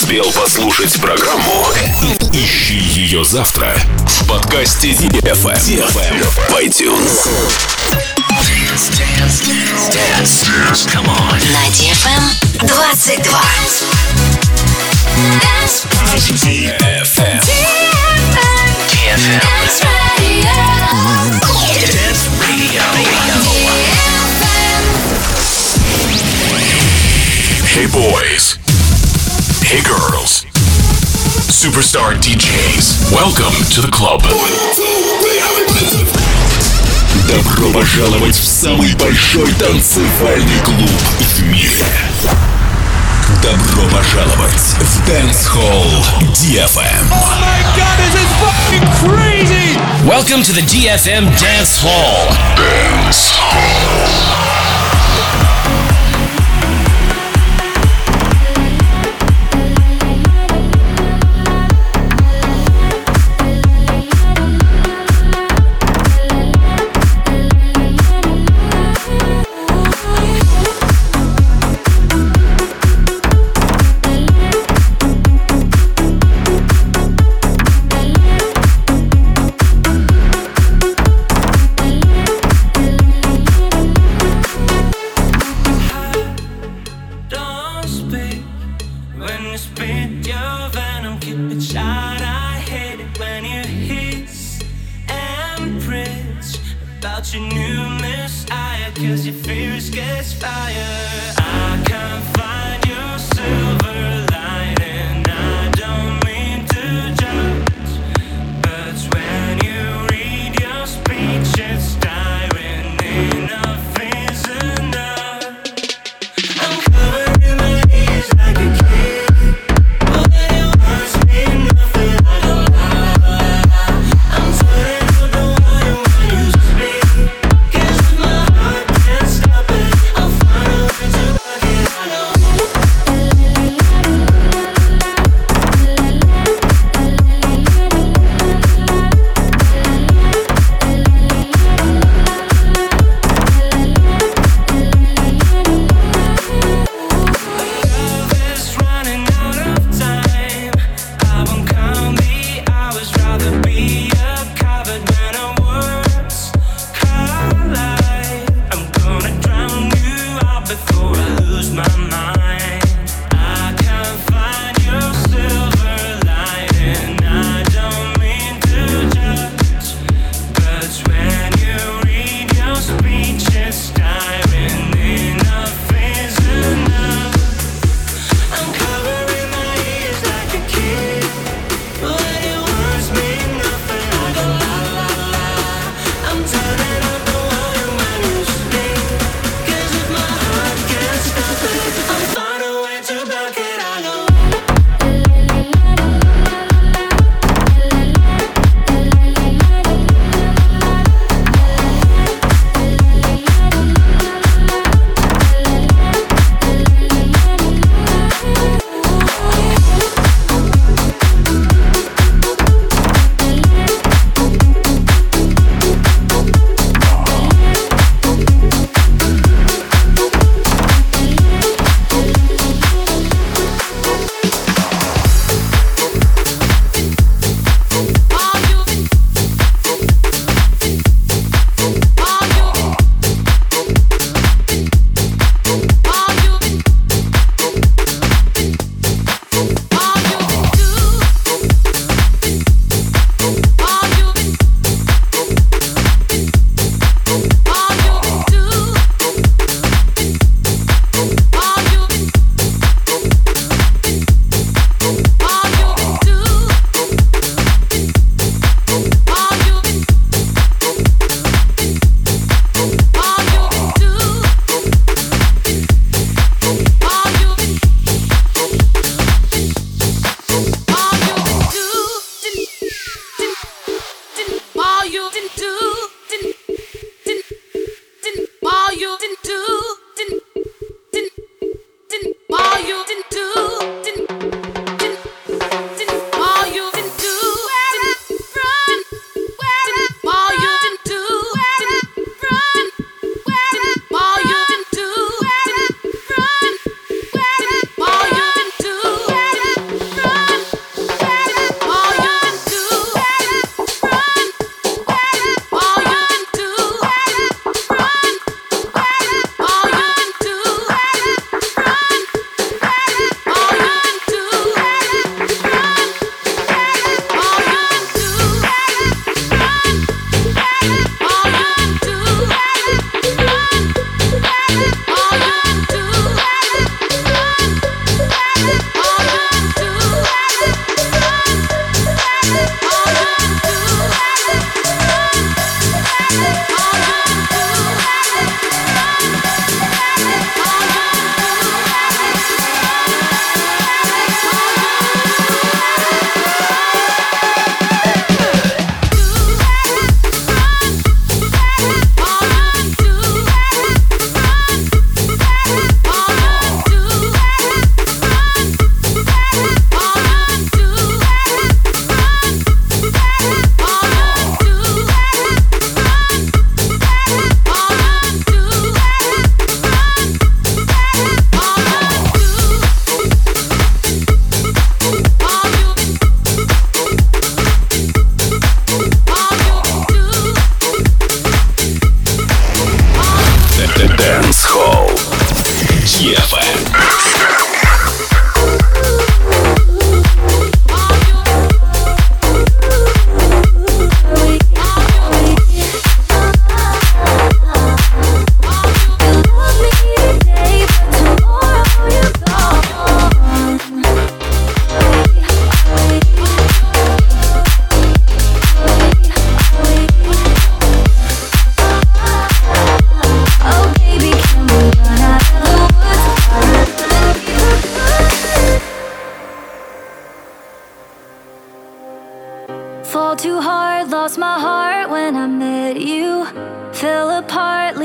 успел послушать программу? Ищи ее завтра в подкасте DFM в iTunes. Dance. Come on. На DFM 22. DFM. Dance Radio. Dance Radio. Hey boys. Hey girls. Superstar DJs. Welcome to the club. Добро пожаловать в самый большой танцевальный клуб в мире. Добро пожаловать в Dance Hall DFM. Oh my god, this is fucking crazy! Welcome to the DFM Dance Hall. Dance Hall.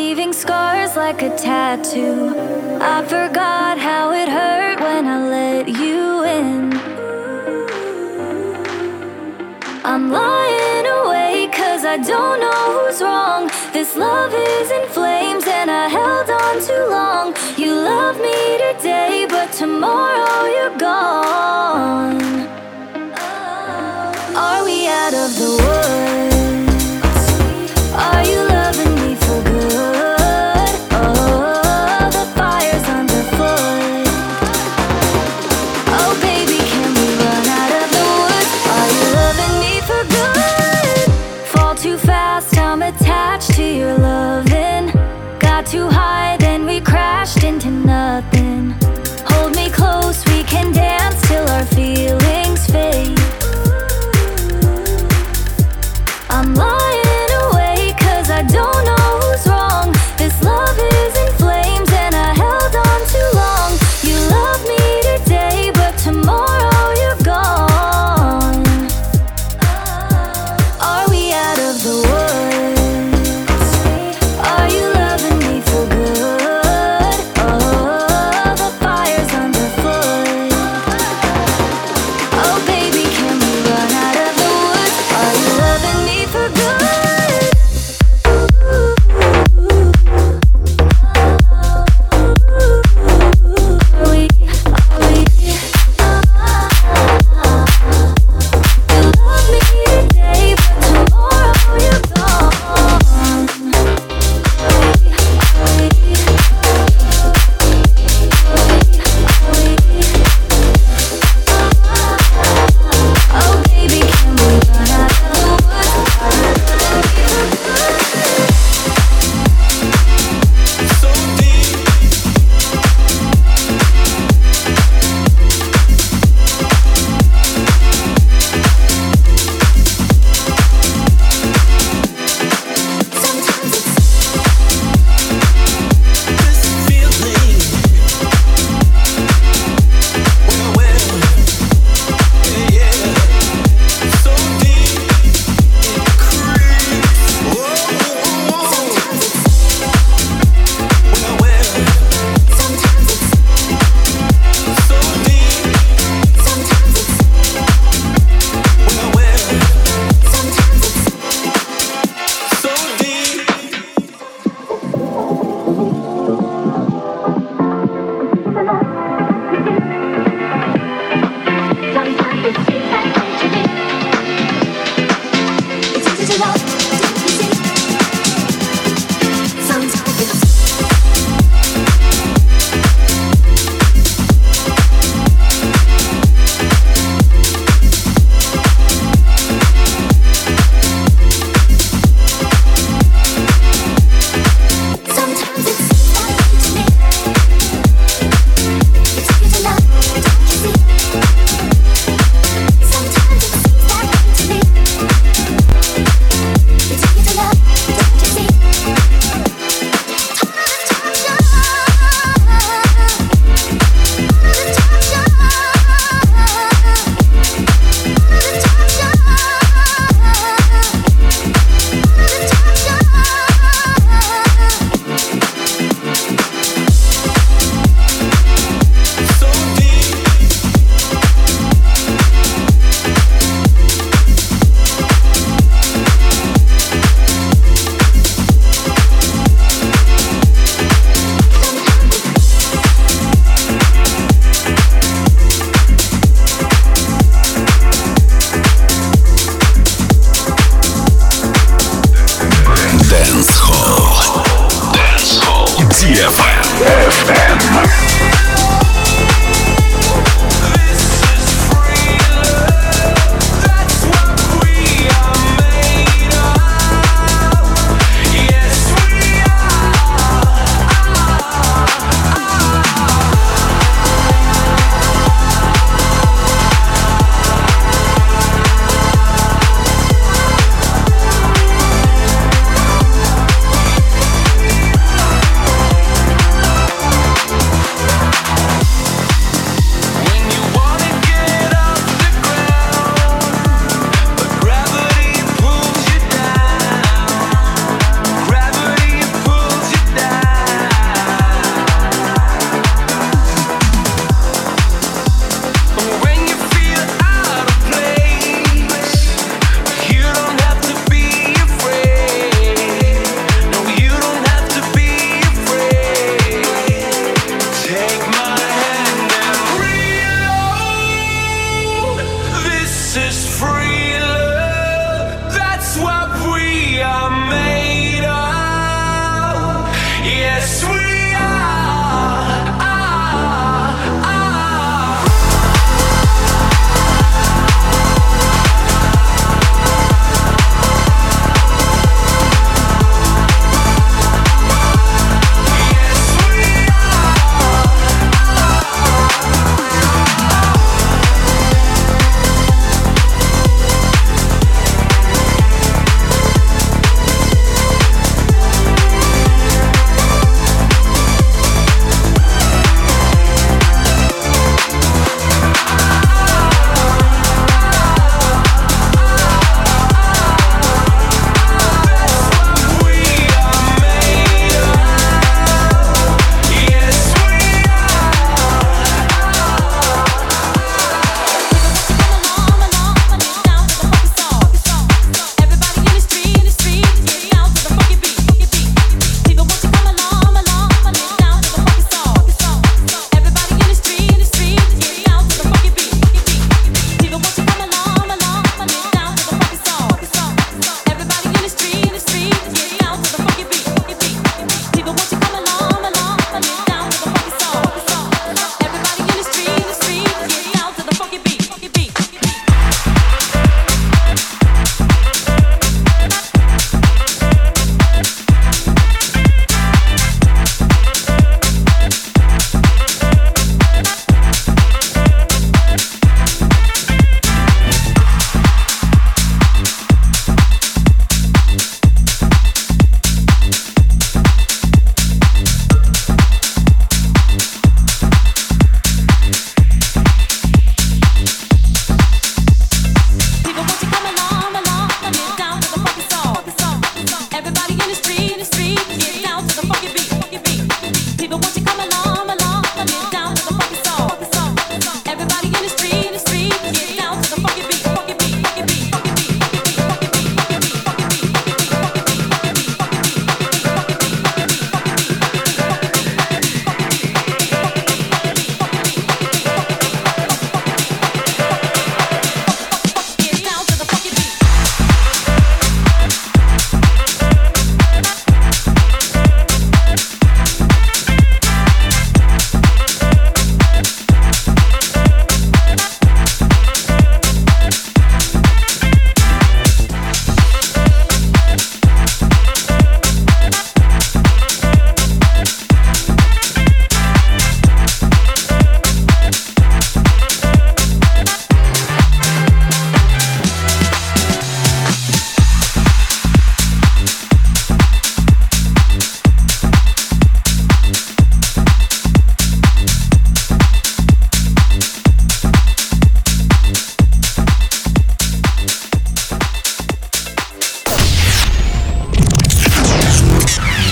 leaving scars like a tattoo. I forgot how it hurt when I let you in. I'm lying awake 'cause I don't know who's wrong. This love is in flames and I held on too long. You love me today, but tomorrow you're gone. Are we out of the woods? Are you loving me for good? Oh, the fire's underfoot. Oh baby, can we run out of the woods? Are you loving me for good? Fall too fast, I'm attached to your loving. Got too high, then we crashed into nothing. Hold me close, we can dance till our feelings fade. I'm lying awake 'cause I don't know who's wrong. This love is in flames and I held on too long. You love me today, but tomorrow you're gone. Are we out of the woods? Are you loving me for good? Oh, the fire's underfoot. Oh baby, can we run out of the woods? Are you loving me for good?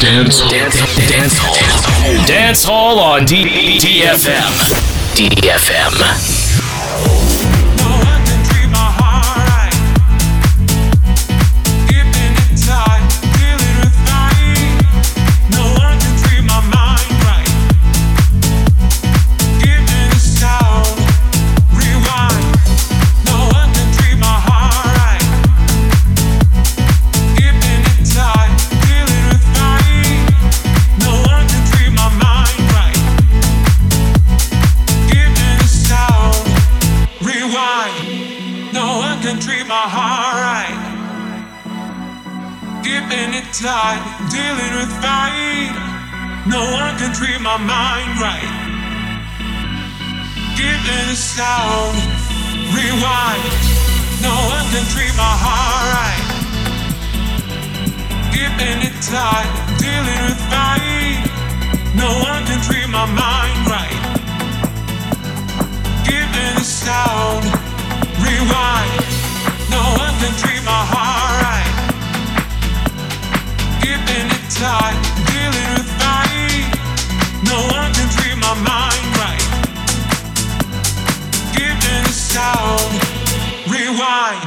Dance Hall on DFM. DFM. Tight, dealing with fight. No one can treat my mind right. Giving a sound, rewind. No one can treat my heart right. Giving it tight, dealing with fight. No one can treat my mind right. Giving a sound, rewind. No one can treat my heart right. Keeping it tight, dealing with fight. No one can treat my mind right. Giving a sound, rewind.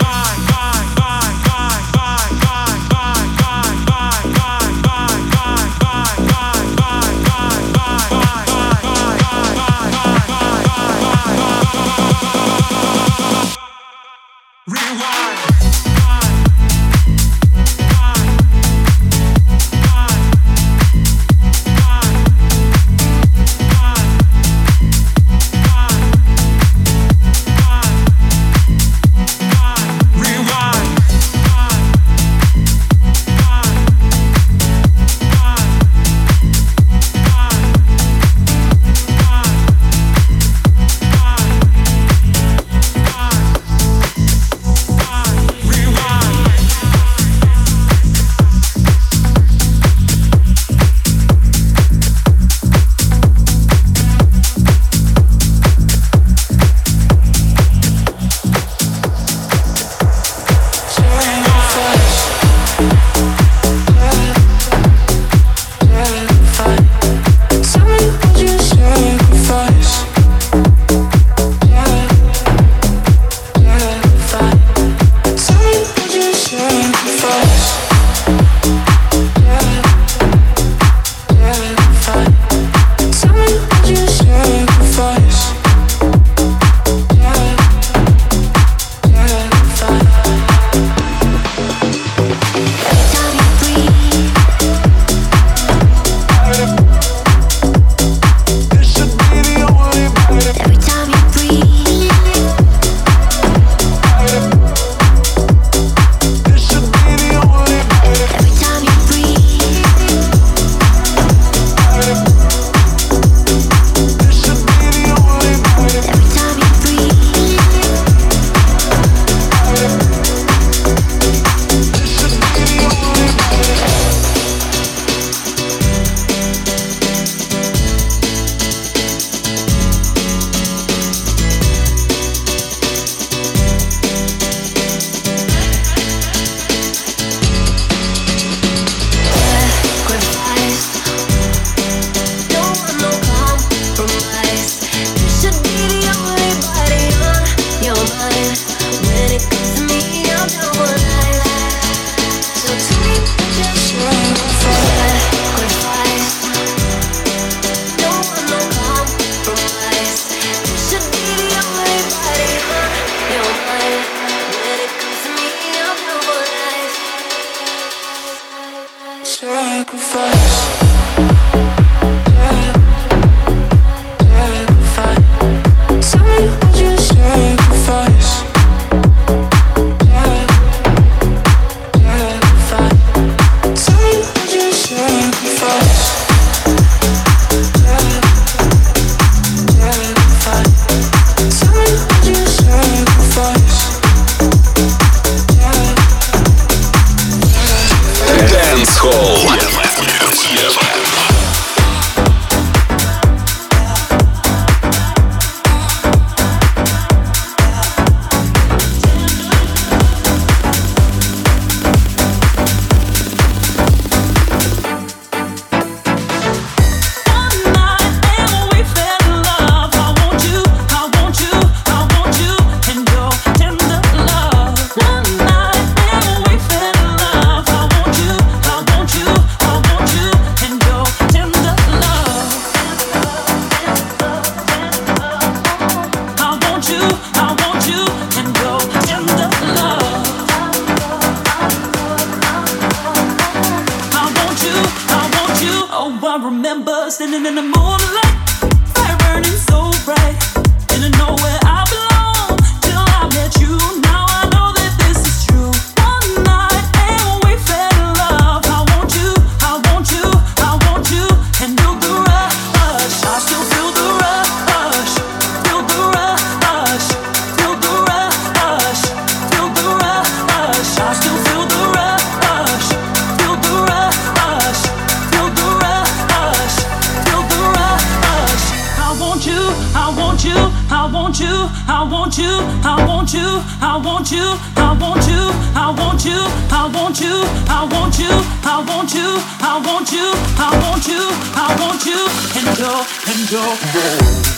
standing in the moonlight, fire burning so bright. Didn't know where I belong till I met you. Now I know that this is true. One night and we fell in love. I want you, I want you, I want you, and feel the rush. I still feel the rush, feel the rush, feel the rush, feel the rush. I still feel the rush, feel the rush, feel the rush, feel the rush. I want you, I want you, I want you, I want you, I want you, I want you, I want you, I want you, I want you, I want you, I want you, I want you, I want you, I want you, and go.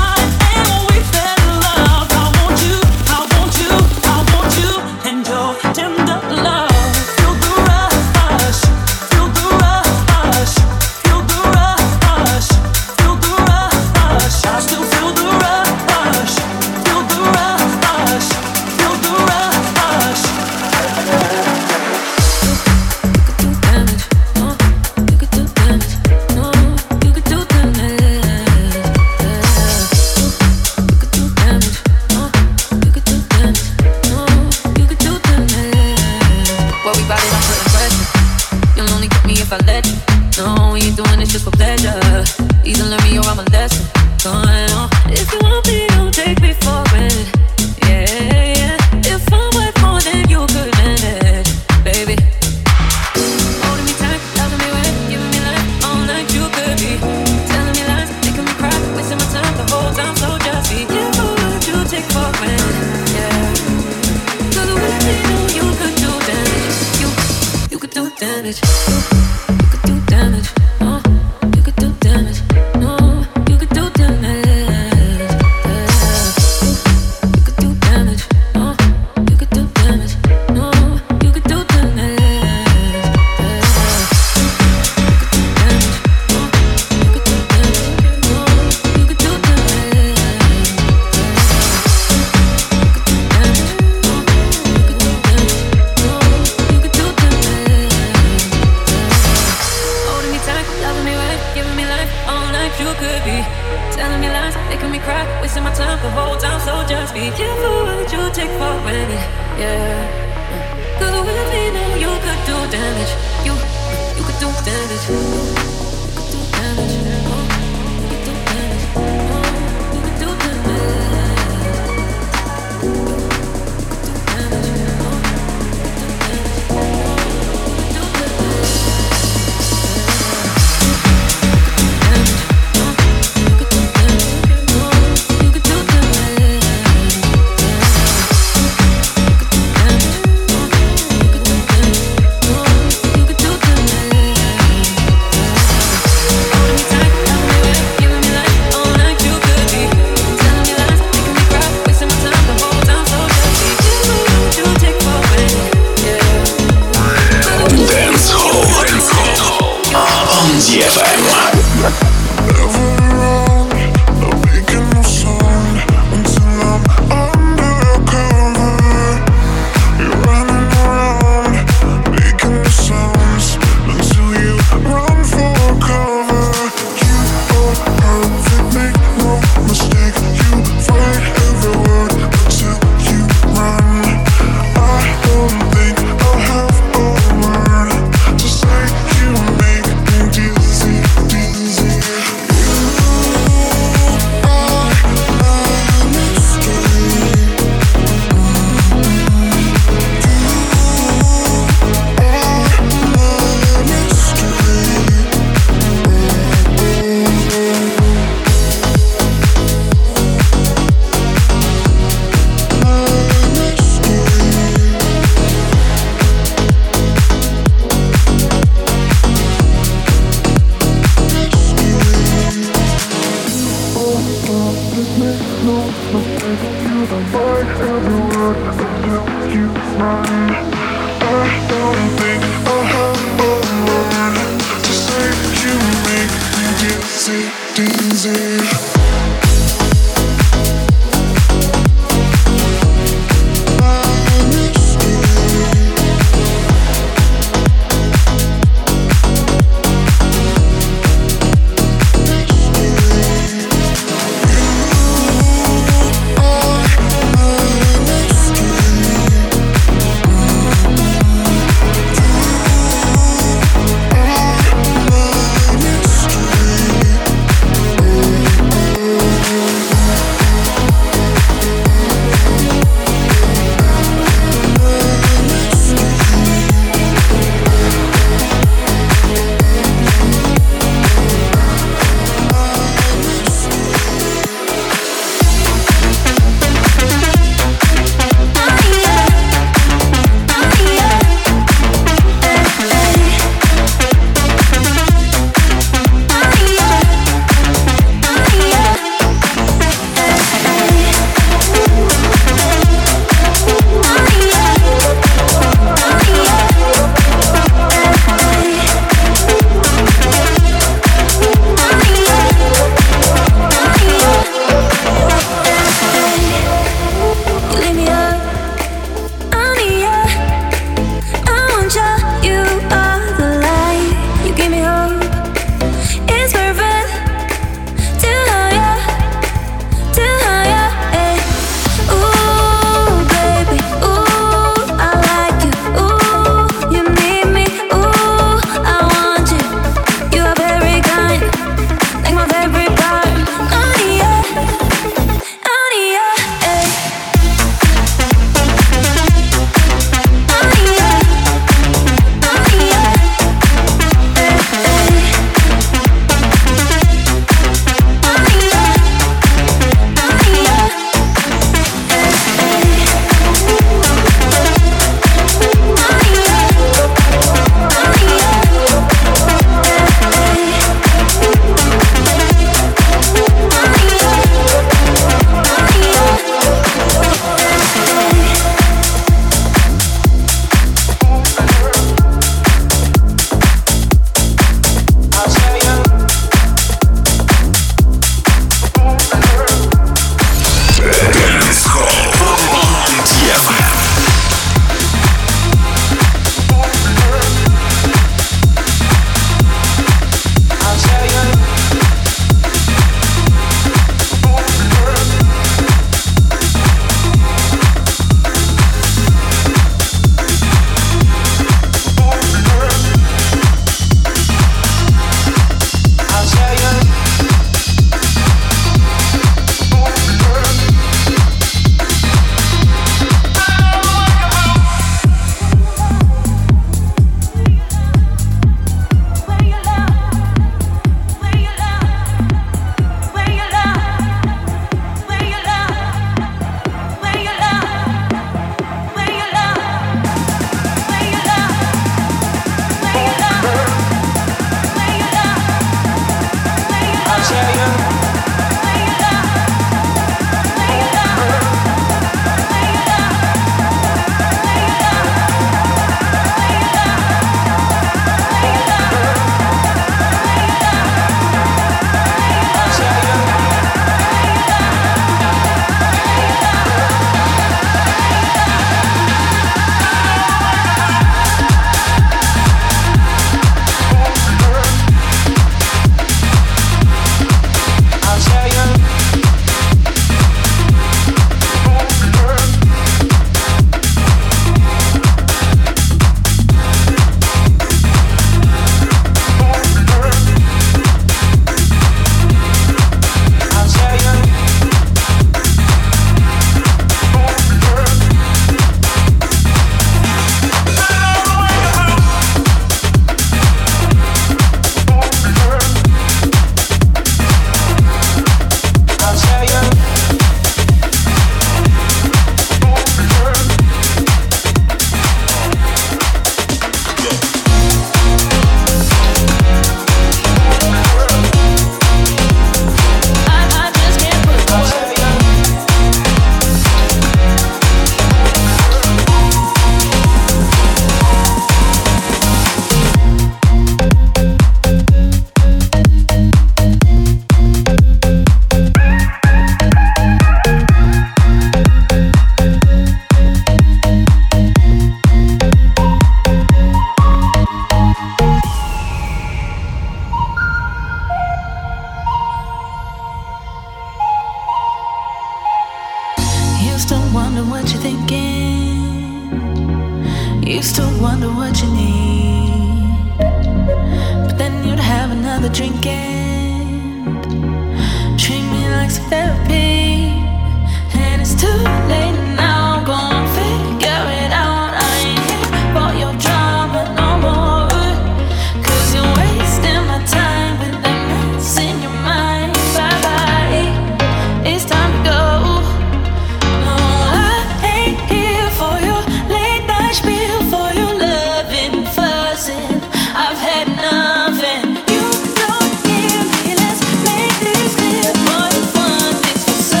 wonder what you're thinking. Used to wonder what you need, but then you'd have another drink and treat me like some therapy. And it's too late now, I'm gonna figure it out. I ain't here for your drama no more, 'cause you're wasting my time with that mess in your mind. Bye-bye, it's time to go. No, I ain't here for your late night spiel, for your loving, fussing. I've had nothing. You don't give me, let's make this clear. More than one, it's for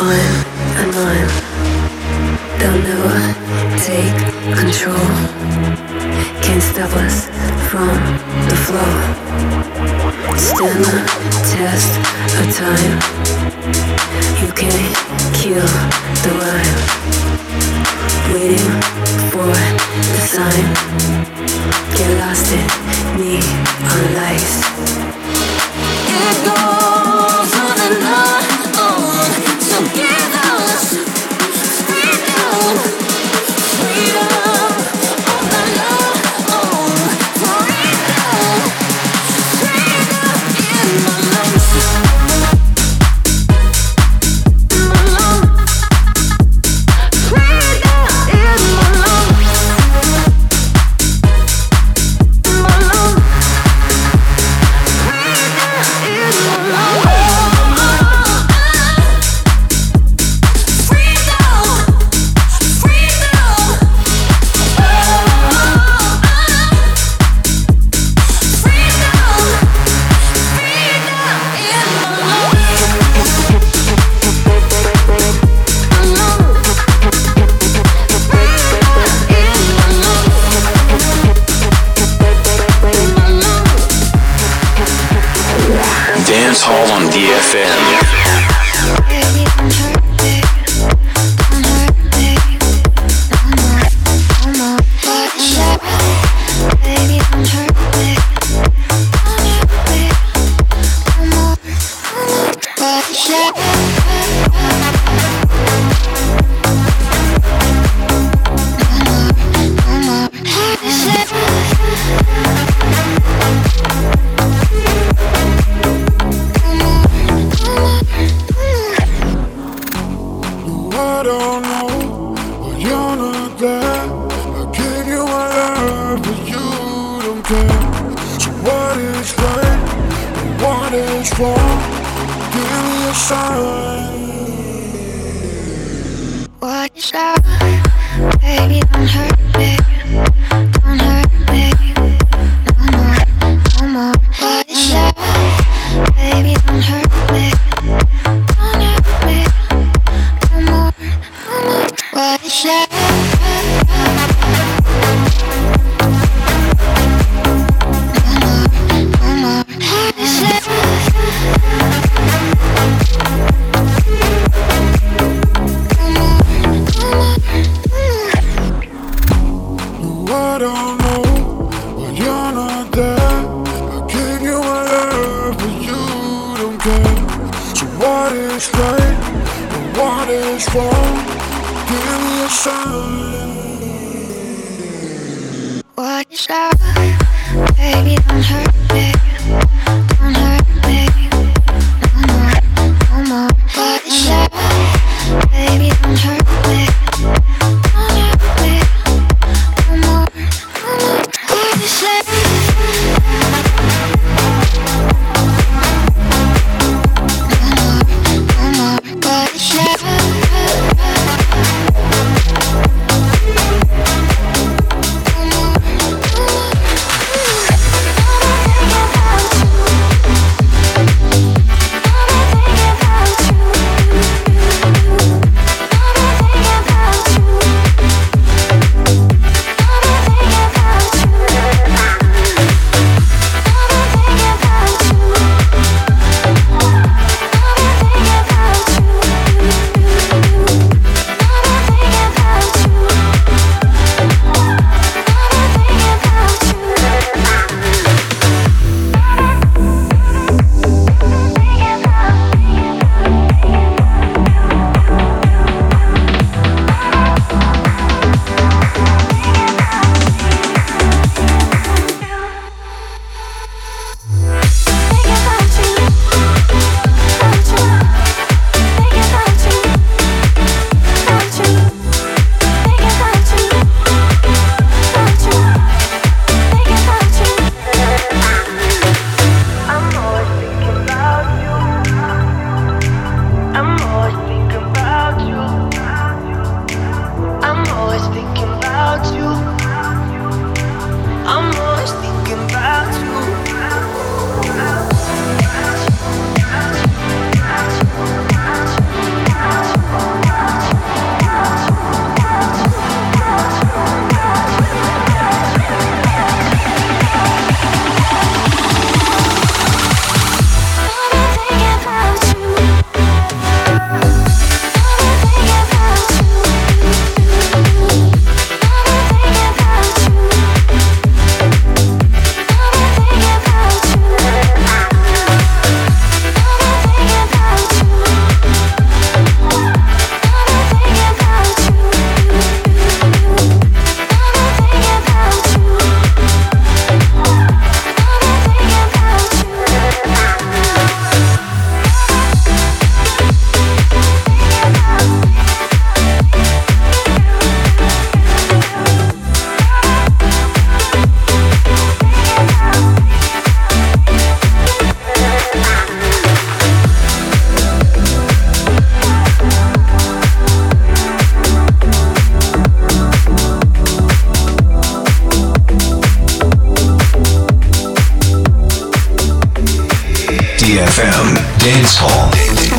mine and mine. They'll never take control. Can't stop us from the flow. Stand the test of time. You can't kill the rhyme. Waiting for the sign. Get lost in neon lights. It goes on and on. So give us freedom, freedom of the love, freedom, freedom in my lungs, in my lungs, freedom in my lungs, in my lungs, freedom in my lungs. Dance Hall on DFM. Watch out, baby, don't hurt me, don't hurt me, no more, no more. Watch out, baby, don't hurt me, don't hurt me, no more, no more. Watch out. Watch out, baby, don't hurt me, don't hurt me, no more, no more. Watch out, baby, don't hurt me, don't hurt me, no more, no more. Watch out. Dance Hall.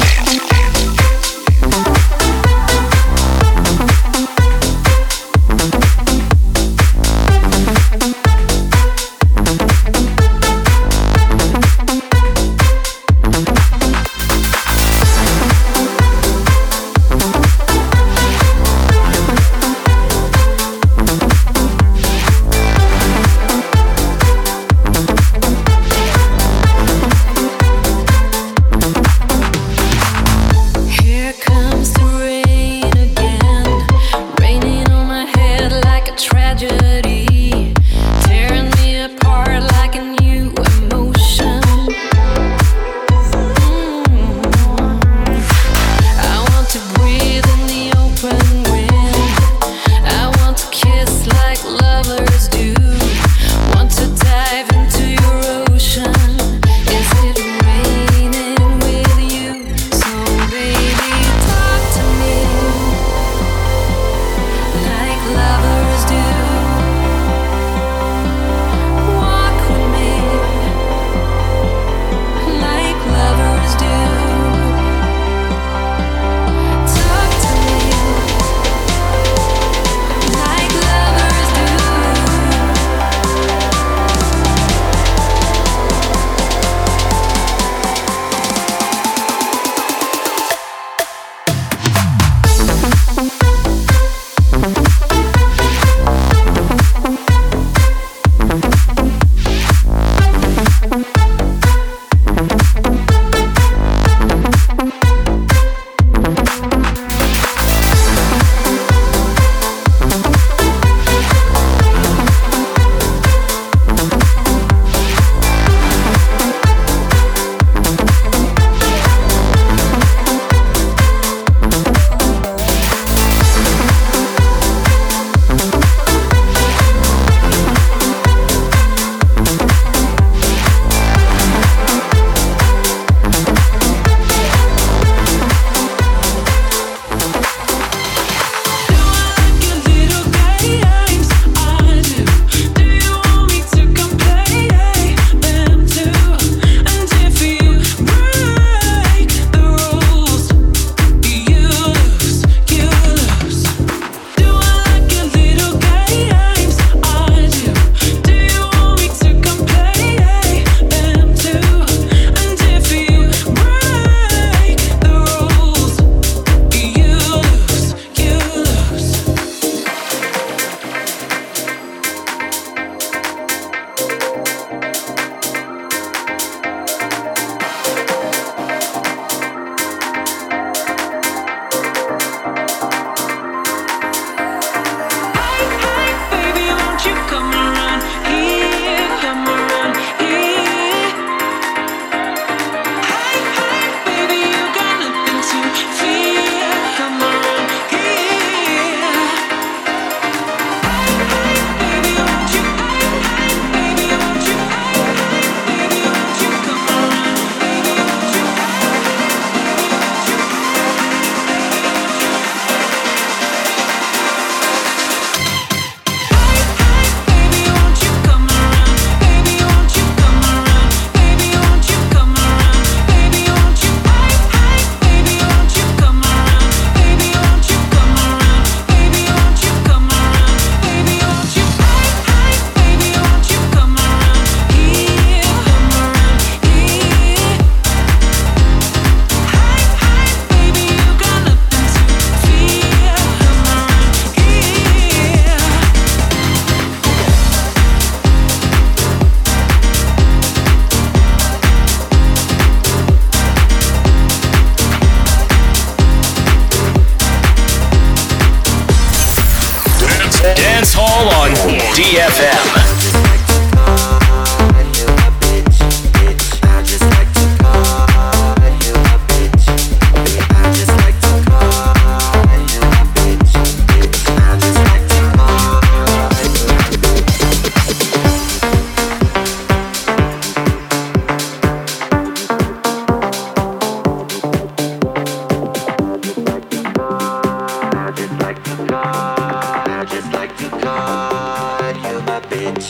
Dance Hall on DFM. Bitch.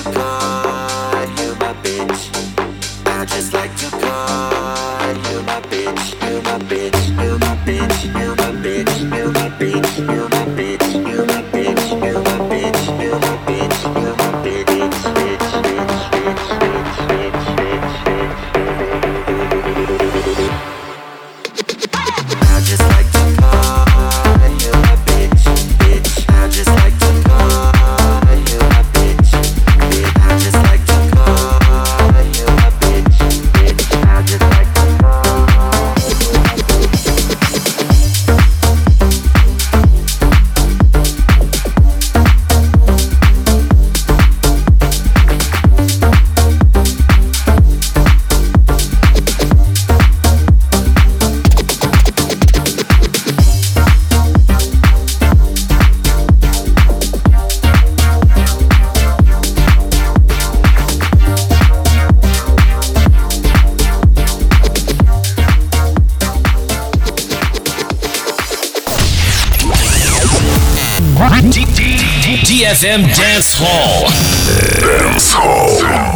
DFM Dance Hall. Dance Hall.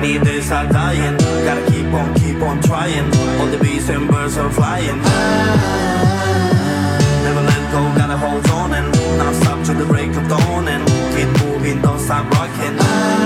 rainy days are dying. Gotta keep on trying. All the bees and birds are flying. Never let go, gotta hold on and not stop to the break of dawn and keep moving, don't stop rocking.